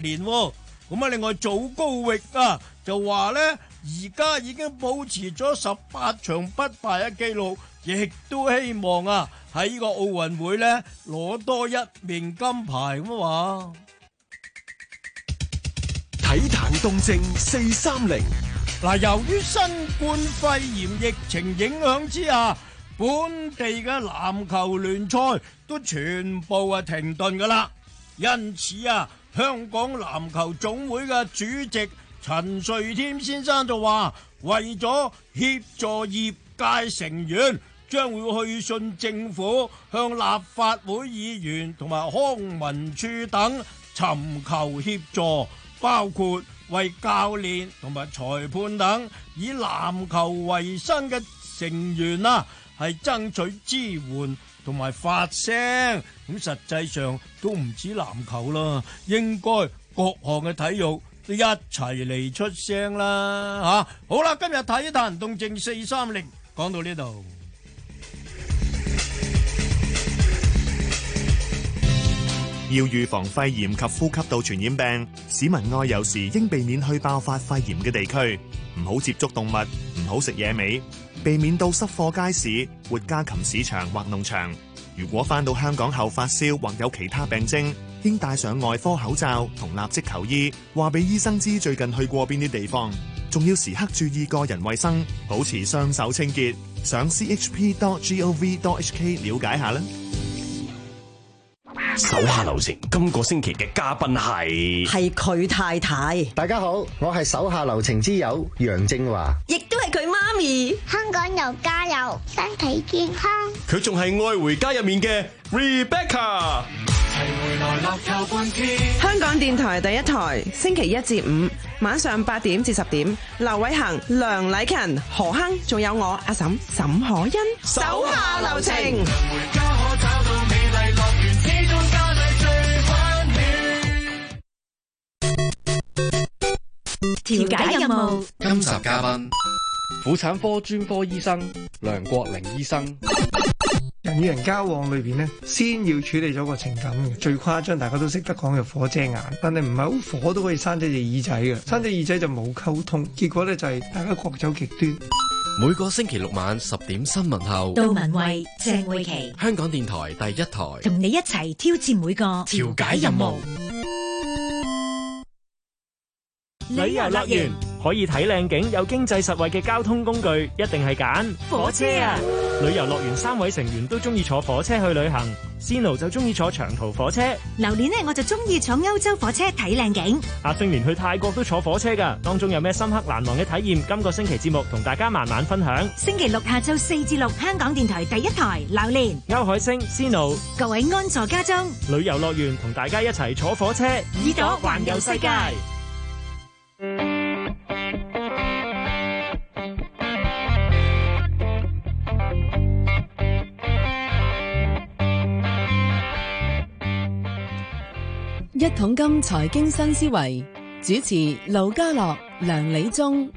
年。咁啊，另外祖高域啊就話呢，而家已經保持咗18場不敗嘅紀錄，亦都希望啊喺呢個奧運會呢攞多一面金牌咁話。 體壇動靜430。 嗱，由於新冠肺炎疫情影響之下，本地嘅籃球聯賽都全部停頓噶啦，因此啊，香港籃球總會嘅主席陳瑞添先生就話，為咗協助業界成員，將會去信政府，向立法會議員同埋康文署等尋求協助，包括為教練同埋裁判等以籃球為生嘅成員啊，係爭取支援同埋發聲。咁實際上都唔止籃球啦，應該各項嘅體育都一齊嚟出聲啦吓。好啦，今日體壇動靜430講到呢度。 要預防肺炎及呼吸道傳染病，市民外遊時應避免去爆發肺炎嘅地區，唔好接觸動物，唔好食野味，避免到濕貨街市、活家禽市場或農場。如果返到香港後發燒或有其他病徵，應戴上外科口罩同立即求醫，話俾醫生知最近去過邊啲地方，仲要時刻注意個人衛生，保持雙手清潔。上 chp.gov.hk 了解下啦。 手下留情，今個星期嘅嘉賓係佢太太。 大家好，我係手下留情之友楊正華， 亦都係佢媽咪。 香港又加油，身體健康。 佢仲係愛回家入面嘅 Rebecca。 香港電台第一台，星期一至五晚上8點至10點，劉偉恒、梁禮勤、何亨，仲有我阿嬸沈可欣。手下留情。 調解任務， 今集嘉賓婦產科專科醫生梁國玲醫生。 人與人交往裏邊呢，先要處理咗個情感嘅。最誇張大家都識得講嘅火遮眼，但係唔係好火都可以生隻耳仔嘅，生隻耳仔就冇溝通，結果呢就係大家各走極端。 每個星期六晚10點新聞後， 杜文慧、鄭慧琪， 香港電台第一台， 同你一齊挑戰每個調解任務。 旅遊樂園可以睇靚景，有經濟實惠嘅交通工具，一定係揀火車啊！旅遊樂園3位成員都中意坐火車去旅行，Sino 就中意坐長途火車， 榴蓮呢我就中意坐歐洲火車睇靚景， 阿星連去泰國都坐火車噶，當中有咩深刻難忘嘅體驗？今個星期節目同大家慢慢分享。 星期六下晝4至6，香港電台第一台，榴蓮、 歐海星、Sino， 各位安坐家中。 旅遊樂園同大家一齊坐火車， 耳朵環遊世界。 一桶金財經新思維，主持盧家樂、梁理中。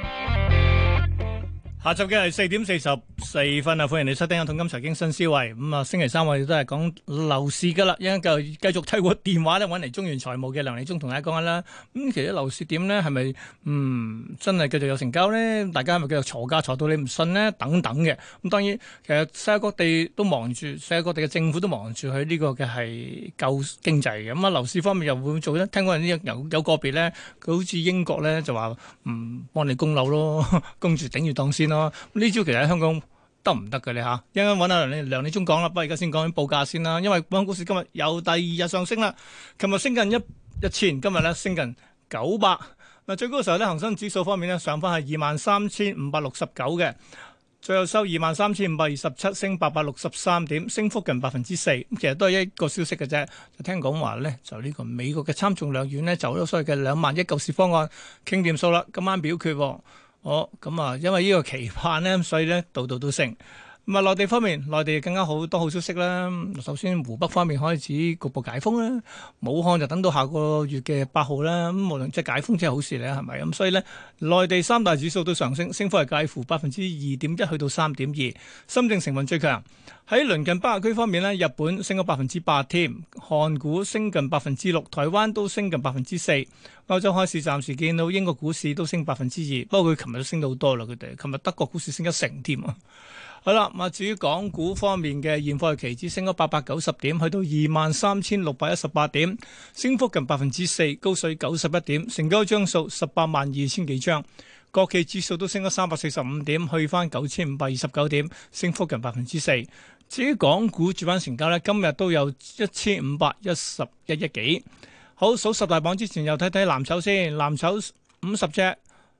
下晝嘅係4點44分啊！歡迎你收聽《一桶金財經新思維》。咁啊，星期三我哋都係講樓市噶啦，一陣就繼續透過電話咧揾嚟中原財務嘅梁理中同大家講下啦。咁其實樓市點咧，係咪真係繼續有成交咧？大家係咪繼續鋤價鋤到你唔信咧？等等嘅。咁當然，其實世界各地都忙住，世界各地嘅政府都忙住喺呢個嘅係救經濟嘅。咁啊，樓市方面又會唔會做咧？聽講有個別咧，佢好似英國咧就話幫你供樓咯，供住頂住檔先咯。呢招其實喺香港得唔得嘅咧嚇？一陣間揾阿梁理中講啦，不過而家先講緊報價先啦。因為本港股市今日又第2日上升啦，琴日升近1000，今日咧升近900。嗱，最高嘅時候咧，恒生指數方面咧上翻係23,569嘅，最後收23,527，升863點，升幅近4%。咁其實都係一個消息嘅啫。就聽講話咧，就呢個美國嘅參眾兩院咧就咗所謂嘅2萬億救市方案傾掂數啦，今晚表決。咁啊，因為呢個期盼咧，所以咧度度都升。 咁啊，內地方面，內地更加好多好消息啦。首先，湖北方面開始局部解封啦，武漢就等到下個月嘅8號啦。咁無論即係解封，即係好事咧，係咪？咁所以咧，內地三大指數都上升，升幅係介乎2.1%去到3.2%。深證成分最強。喺鄰近北亞區方面咧，日本升咗8%添，韓股升近6%，台灣都升近4%。歐洲開市暫時見到英國股市都升2%，不過佢琴日都升到好多啦，佢哋琴日德國股市升1成添啊！好啦，咁至於港股方面嘅現貨期指升咗890點，去到23,618點，升幅近4%，高水91點，成交張數182000幾張。國企指數都升咗345點，去翻9529點，升幅近4%。至於港股主板成交呢，今日都有1511億幾。好，數十大榜之前又睇睇藍籌先，藍籌50隻，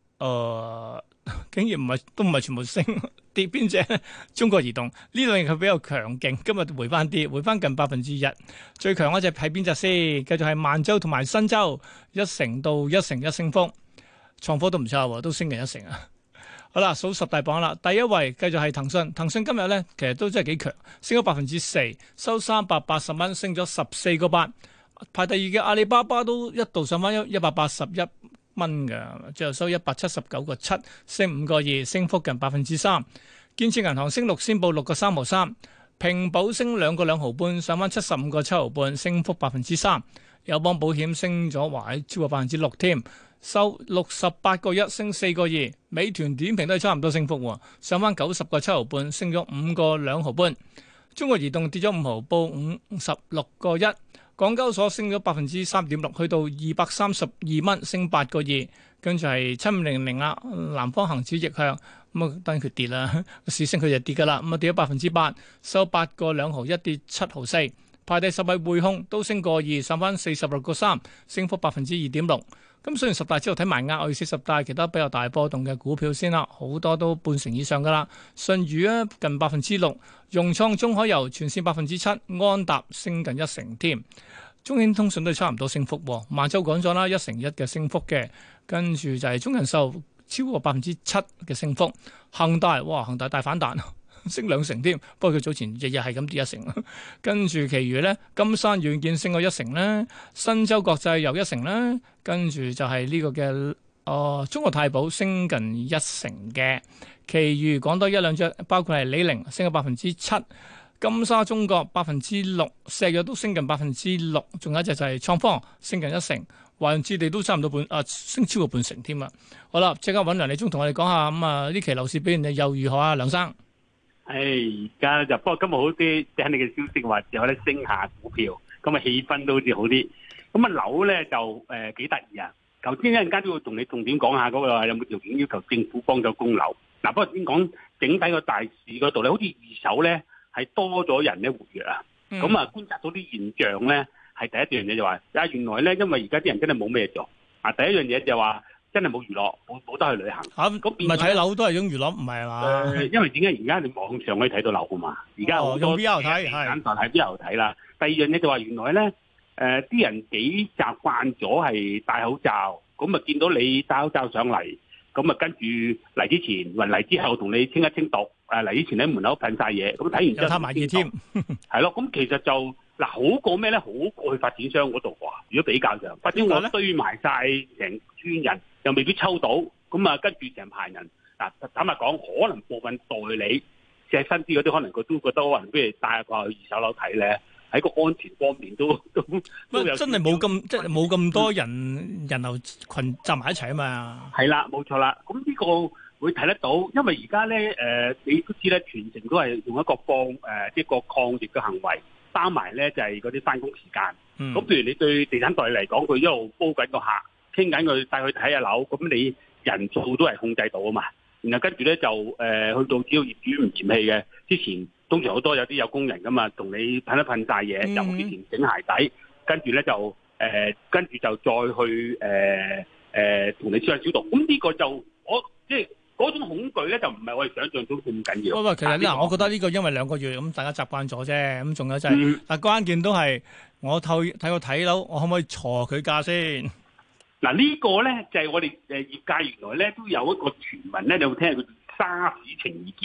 竟然都唔係全部升，跌邊隻？中國移動呢兩日佢比較強勁，今日回翻啲，回翻近1%。最強嗰隻係邊隻先？繼續係萬洲同埋新洲，1成到1成1升幅，創科都唔差喎，都升近1成啊！好啦，數十大榜啦，第一位繼續係騰訊，騰訊今日咧其實都真係幾強，升咗4%，收380蚊，升咗14個8。排第二嘅阿里巴巴都一度上翻181蚊嘅，最後收179個7，升5個2，升幅近3%。建設銀行升6仙報6個3毫3，平保升2個2毫半，上翻75個7毫半，升幅3%。友邦保險升咗超過6%添，收68個1，升4個2。美團點評都係差唔多升幅喎，上翻90個7毫半，升咗5個2毫半。中國移動跌咗5毫，報56個1。港交所升咗3.6%，去到232蚊，升8個2。跟住係7500啦，南方恒指逆向，咁啊當然佢跌啦，市升佢就跌噶啦，咁啊跌咗8%，收8個2毫1，跌7毫4。排第10位匯控都升個2，上翻46個3，升幅2.6%。咁雖然十大之後睇埋額外40大其他比較大波動嘅股票先啦，好多都半成以上噶啦。舜宇啊近6%，融創中海油全線7%，安踏升近1成添。中興通訊都係差唔多升幅，萬洲講咗啦，1成1嘅升幅嘅，跟住就係中人壽超過7%嘅升幅。恒大大反彈，升2成添，不過佢早前日日係咁跌1成。跟住其餘咧，金山軟件升咗1成啦，新洲國際又1成啦，跟住就係呢個嘅中國太保升近1成嘅，其餘講多一兩隻，包括係李寧升咗7%。金沙中國6%，石藥都升近6%，仲有一隻就係創科升近1成，華潤置地都差唔多升超過半成添啊！好啦，即刻揾梁理中同我哋講下咁啊，呢期樓市表現又如何啊？梁生， 而家就不過今日好啲，聽你嘅消息話有得升下股票，咁啊氣氛都好似好啲。咁啊樓咧就幾得意啊！頭先一陣間都要同你重點講下嗰個有冇條件要求政府幫咗供樓。嗱，不過先講整體個大市嗰度咧，好似二手咧。係多咗人咧活躍啊，咁啊觀察到啲現象咧，係第一樣嘢就話，原來咧因為而家啲人真係冇咩做啊，第一樣嘢就話真係冇娛樂，冇得去旅行。咁唔係睇樓都係種娛樂，唔係嘛？ 因為點解而家你網上可以睇到樓啊嘛？而家好多 VR 睇， 簡單係 VR 睇啦。第二樣嘢就話原來咧，啲人幾習慣咗係戴口罩，咁啊見到你戴口罩上嚟。咁啊，跟住嚟之前，嚟之後同你清一清毒。嚟之前喺門口噴晒嘢，咁睇完之後攤埋嘢添， 係咯。咁其實就好過咩咧？好過去發展商嗰度喎。如果比較上，發展商堆埋晒成村人，又未必抽到。咁啊，跟住成排人。嗱，坦白講，可能部分代理即係新啲嗰啲，可能佢都覺得可能不如帶過去二手樓睇咧。喺個安全方面都有真係冇咁即係冇咁多人流群集埋一齊啊嘛。 係啦，冇錯啦。咁呢個會睇得到，因為而家咧你都知咧，全程都係用一個即係個抗疫嘅行為，包埋咧就係嗰啲翻工時間。咁譬如你對地產代理嚟講，佢一路煲緊個客，傾緊佢帶佢睇下樓，咁你人數都係控制到啊嘛。然後跟住咧就去到只要業主唔嫌棄嘅，之前通常好多有啲有工人噶嘛，同你噴一噴晒嘢，由之前整鞋底，跟住咧就跟住就再去同你消消毒。咁呢個就我即係嗰種恐懼咧，就唔係我哋想象中咁緊要。 不過其實嗱，我覺得呢個因為2個月咁大家習慣咗啫，咁仲有就係但關鍵都係我睇個睇樓，我可唔可以鋤佢價先？ 嗱呢個咧就係我哋業界原來咧都有一個傳聞咧，你有冇聽過叫沙士情意結啦？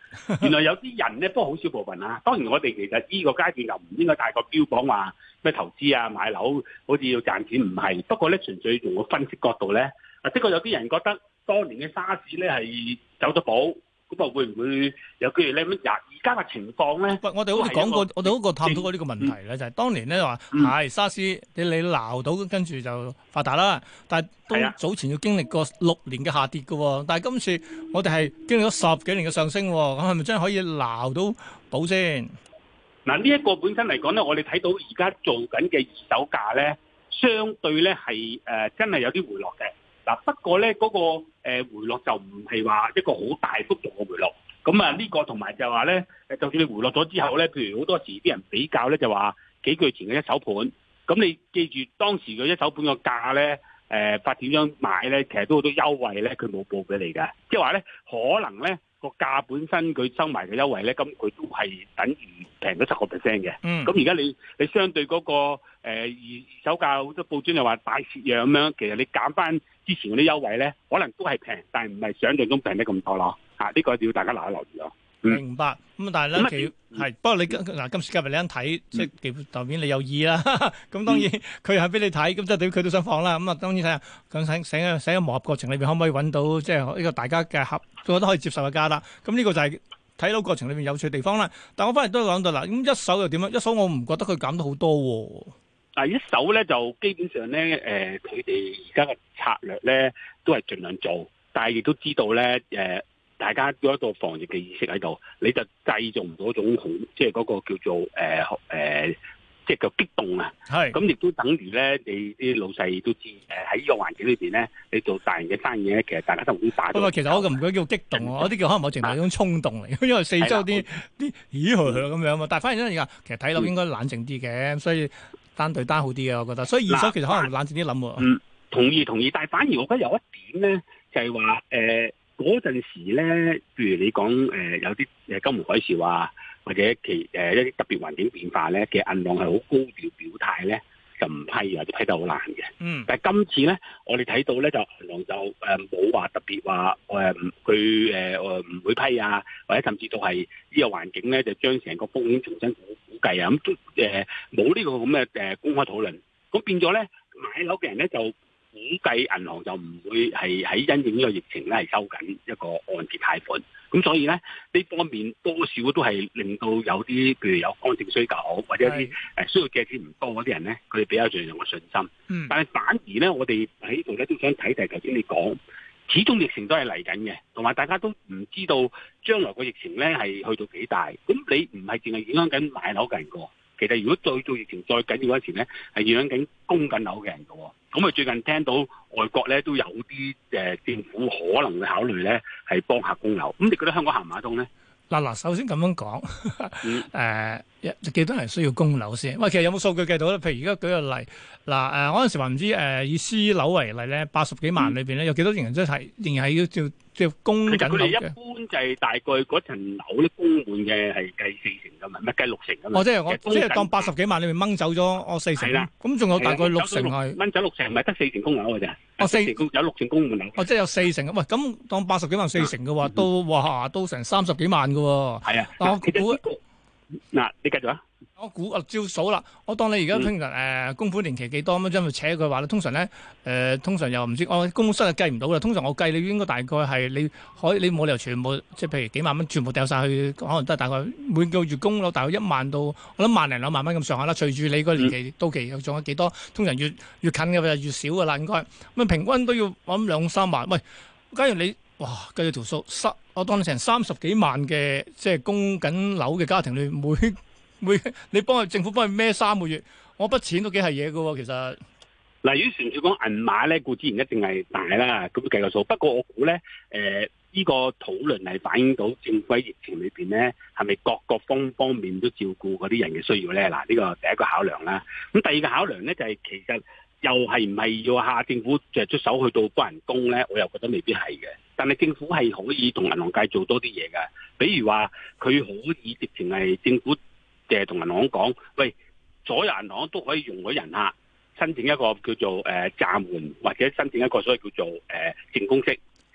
原來有啲人咧，不過好少部分啊。當然我哋其實呢個階段又唔應該太過標榜話咩投資啊、買樓，好似要賺錢，唔係。不過咧，純粹從個分析角度咧，的確有啲人覺得當年嘅沙士咧係走咗寶。咁啊，會唔會有機會咧？而家嘅情況咧， 我哋好似講過，我哋好過探討過呢個問題咧，就係當年咧話係沙士，你鬧到跟住就發達啦。但係都早前要經歷過6年嘅下跌嘅，但係今次我哋係經歷咗10幾年嘅上升，咁係咪真係可以鬧到寶先？ 嗱，呢一個本身嚟講咧，我哋睇到而家做緊嘅二手價咧，相對咧係真係有啲回落嘅。不過咧嗰個回落就唔係話一個好大幅度嘅回落，咁啊呢個同埋就話咧，就算你回落咗之後咧，譬如好多時啲人比較咧就話幾個月前嘅一手盤，咁你記住當時嘅一手盤個價咧，發展商買咧，其實都好多優惠咧，佢冇報俾你㗎，即係話咧可能咧個價本身佢收埋嘅優惠咧，咁佢都係等於平咗10%嘅。咁而家你相對嗰個二手價好多報章又話大蝕讓咁樣，其實你減翻之前嗰啲優惠咧，可能都係平，但係唔係想象中平得咁多咯。呢個要大家留意咯。 明白。咁但係咧，係不過你嗱今時今日你一睇，即係代表你有意啦。咁當然佢係俾你睇，咁即係對佢都想放啦。咁啊當然睇下咁喺磨合過程裏邊可唔可以揾到即係呢個大家嘅覺得可以接受嘅價啦。咁呢個就係睇到過程裏邊有趣嘅地方啦。但我翻嚟都講到啦，咁一手又點樣？一手我唔覺得佢減得好多喎。 一手咧就基本上咧，佢哋而家嘅策略咧都係盡量做，但係亦都知道咧，大家有一個防疫嘅意識喺度，你就製造唔到一種好，即係嗰個叫做即係個激動啊。係。咁亦都等於咧，你啲老細都知，喺呢個環境裏邊咧，你做大型嘅生意咧，其實大家都唔會打。不過其實我唔覺得叫激動喎，我啲叫可能某程度係一種衝動嚟，因為四周啲咦咁樣嘛。但係反而咧而家其實睇落應該冷靜啲嘅，所以。單對單好啲嘅，我覺得，所以二手其實可能冷靜啲諗喎。 同意，但係反而我覺得有一點咧，就係話嗰陣時咧，譬如你講有啲金融海嘯啊，或者一啲特別環境變化咧，其實銀行係好高調表態咧，就唔批或者批得好難嘅。但係今次咧，我哋睇到咧就銀行就冇話特別話佢唔會批啊，或者甚至到係呢個環境咧就將成個風險重新估計啊，咁冇呢個咁嘅公開討論，咁變咗咧買樓嘅人咧就估計銀行就唔會係喺因應呢個疫情咧係收緊一個按揭貸款，咁所以咧呢方面多少都係令到有啲譬如有剛性需求或者一啲需要借錢唔多嗰啲人咧，佢哋比較上有個信心。但係反而咧，我哋喺呢度咧都想睇就係頭先你講。始終疫情都係嚟緊嘅，同埋大家都唔知道將來個疫情咧係去到幾大。咁你唔係淨係影響緊買樓嘅人個，其實如果再做疫情再緊要嗰時咧，係影響緊供緊樓嘅人個。咁啊最近聽到外國咧都有啲政府可能會考慮咧係幫客供樓。咁你覺得香港行唔行得通咧？ 嗱，首先咁樣講，幾多人需要供樓先？喂，其實有冇數據計到咧？譬如而家舉個例，嗱，嗰陣時話唔知以私樓為例咧，80幾萬裏邊咧，有幾多人真係仍然係要照供緊樓嘅？佢哋一般就係大概嗰層樓咧供滿嘅係計40%㗎嘛，唔係計60%㗎嘛。即係我即係當80幾萬裏面掹走咗我40%啦。咁仲有大概60%係掹走60%，唔係得40%供樓㗎咋？有60%供滿樓。即係有40%。喂，咁當80幾萬40%嘅話，都成30幾萬㗎喎。係啊。但我估嗱，你繼續啊。 我估照數啦，我當你而家通常供款年期幾多咁，將佢扯佢話咧，通常咧通常又唔知我公司係計唔到啦。通常我計你應該大概係你冇理由全部即係譬如幾萬蚊全部掉晒去，可能都係大概每個月供樓大概1萬到我諗1萬零2萬蚊咁上下啦。隨住你個年期到期又仲有幾多，通常越近嘅就越少噶啦，應該咁平均都要諗2、3萬。喂，假如你哇計咗條數，我當你成30幾萬嘅即係供緊樓嘅家庭裏每你政府幫佢孭3個月，我筆錢都幾係嘢㗎喎，其實。 嗱，如果純粹講銀碼咧，固之然一定係大啦，咁計個數。不過我估咧，呢個討論係反映到政府喺疫情裏邊咧，係咪各個方面都照顧嗰啲人嘅需要咧？嗱，呢個第一個考量啦。咁第二個考量咧就係其實又係唔係要下政府就出手去到幫人供咧？我又覺得未必係嘅。但係政府係可以同銀行界做多啲嘢㗎，比如話佢可以直情係政府。同銀行講，喂，所有銀行都可以容許人客申請一個叫做暫緩，或者申請一個所謂叫做淨供息。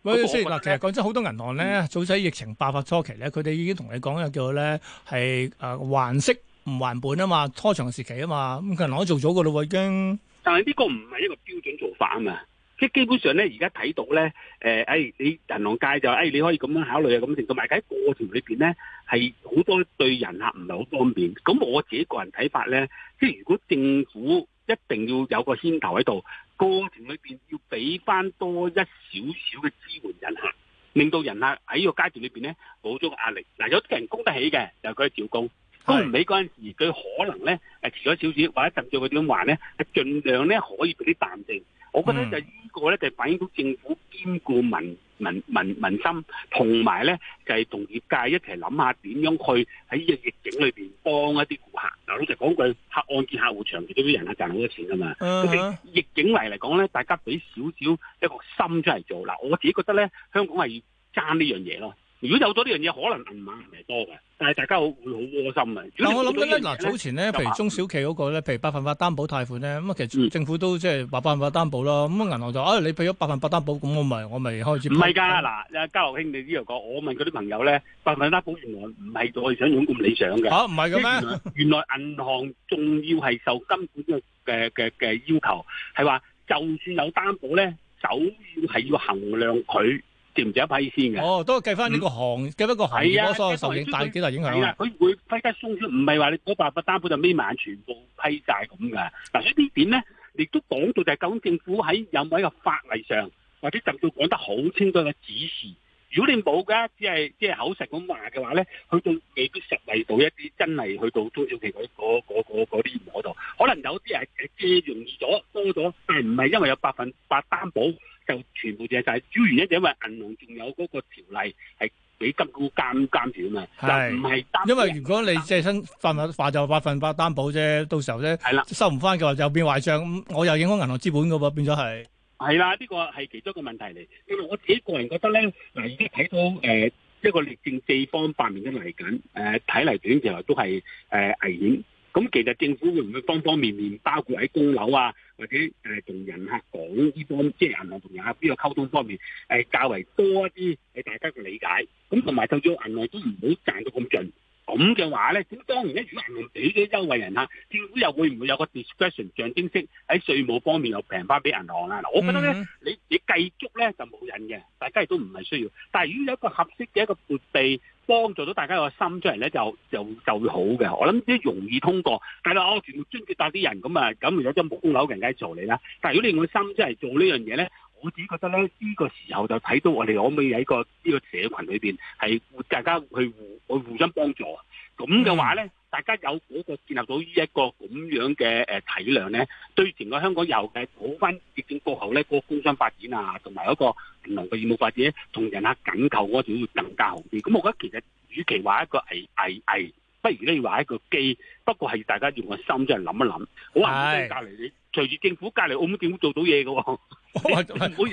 喂，先嗱，其實講真，好多銀行咧，早喺疫情爆發初期咧，佢哋已經同你講嘅叫咧係還息唔還本啊嘛，拖長時期啊嘛，咁銀行都做咗噶咯喎已經。 但係呢個唔係一個標準做法啊嘛。即係基本上咧，而家睇到咧，你銀行界就你可以咁樣考慮啊，咁成，同埋喺過程裏邊咧，係好多對人客唔係好方便。咁我自己個人睇法咧，即係如果政府一定要有個牽頭喺度，過程裏邊要俾翻多一少少嘅支援人客，令到人客喺個階段裏邊咧冇咗個壓力。嗱，有啲人供得起嘅，就佢照供。供唔起嗰陣時，佢可能咧遲咗少少，或者甚至佢點還咧，盡量咧可以俾啲彈性。我覺得就呢個咧就反映到政府兼顧民心，同埋咧就係同業界一齊諗下點樣去喺呢個逆境裏邊幫一啲顧客。嗱，老實講句，按揭客戶長期都啲人客賺好多錢噶嘛。咁逆境嚟講咧，大家俾少少一個心出嚟做。嗱，我自己覺得咧，香港係要爭呢樣嘢咯。如果有咗呢樣嘢，可能銀碼唔係多嘅，但係大家會好窩心啊！ 但我諗緊咧，嗱早前咧，譬如中小企嗰個咧，譬如百分百擔保貸款咧，咁啊其實政府都即係話百分百擔保啦。咁銀行就你俾咗百分百擔保，咁我咪開始唔係㗎嗱，家樂兄你呢度講，我問嗰啲朋友咧，百分百擔保原來唔係我哋想象咁理想嘅嚇，唔係嘅咩？原來銀行仲要係受金管嘅要求，係話就算有擔保咧，首要係要衡量佢。值唔值一批先嘅？都計翻呢個計翻個行業嗰個受影大幾大影響啊！佢會批得鬆啲，唔係話你嗰百擔保就眯埋眼全部批晒咁㗎。嗱，所以呢點咧，亦都講到就係究竟政府喺有冇一個法例上，或者甚至講得好清楚嘅指示。如果你冇㗎，只係即係口實咁話嘅話咧，去到未必實惠到一啲真係去到中小企嗰啲嗰度，可能有啲係借容易咗多咗，但係唔係因為有百分百擔保。就全部借晒，主要原因就因為銀行仲有嗰個條例係俾金管監條啊嘛，就唔係擔。因為如果你借身話就百分百擔保啫，到時候咧收唔翻嘅話就變壞帳，我又影響銀行資本嘅喎，變咗係。係啦，呢個係其中一個問題嚟。因為我自己個人覺得咧，嗱而家睇到一個歷政四方八面都嚟緊，睇嚟短期內都係危險。咁其實政府會唔會方方面面，包括喺供樓啊，或者同人客講呢方，即係銀行同人客呢個溝通方面，較為多一啲係大家嘅理解。咁同埋就算銀行都唔好賺到咁盡。咁嘅話咧，咁當然咧，如果銀行俾啲優惠人客，政府又會唔會有個 discretion 象徵式喺稅務方面又平翻俾銀行啊？嗱，我覺得咧，你計足咧就冇癮嘅，大家亦都唔係需要。但係如果有一個合適嘅一個撥備，幫助到大家個心出嚟咧，就會好嘅。我諗啲容易通過，但係全部津貼帶啲人咁啊，咁有啲冇供樓嘅人梗係做你啦。但係如果你用個心出嚟做呢樣嘢咧，我自己覺得咧，呢個時候就睇到我哋可唔可以喺呢個社群裏邊係大家去互相幫助。咁嘅話咧，大家有嗰個建立到呢一個咁樣嘅體諒咧，對整個香港又係好翻疫情過後咧，個工商發展啊，同埋嗰個銀行嘅業務發展，同人客緊扣嗰條會更加好啲。咁我覺得其實與其話一個危，不如咧話一個機。不過係大家用個心真係諗一諗。好話唔隔離你，隨住政府隔離澳門政府做到嘢嘅喎。澳門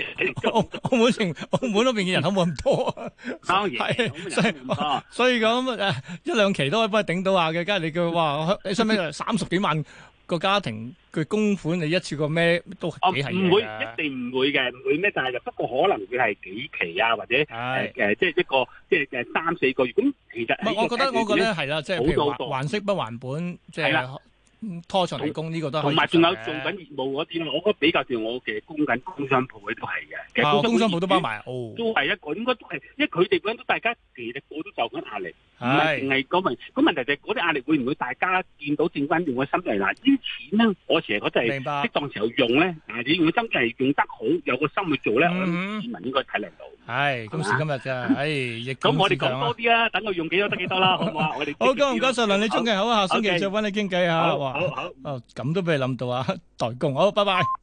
嗰邊嘅人口冇咁多，所以咁一兩期都可以幫你頂到下嘅。梗係你叫話你使唔使30幾萬個家庭佢供款，你一次過咩都幾係嘅。唔會，一定唔會嘅，唔會咩？但係不過可能會係幾期啊，或者即係一個即係3-4個月。咁其實我覺得係啦，即係譬如還息不還本，即係。拖長嚟供呢個都係，同埋仲有做緊業務嗰啲咯，我覺得比較似我嘅供緊工商鋪嗰啲都係嘅。其實工商鋪都包埋，都係一個應該都係，因為佢哋嗰啲都大家其實個都受緊壓力，唔係淨係嗰問。咁問題就係嗰啲壓力會唔會大家見到正翻用個心嚟嗱？啲錢咧，我成日覺得係適當時候用咧，你用個心係用得好，有個心去做咧，我諗市民應該體諒到。係今時今日啫，咁我哋講多啲啦，等佢用幾多得幾多啦，好唔好啊？我哋好，唔該晒梁理中嘅，好，下星期再揾你傾偈嚇。好，咁都俾你諗到啊，代工，好，拜拜。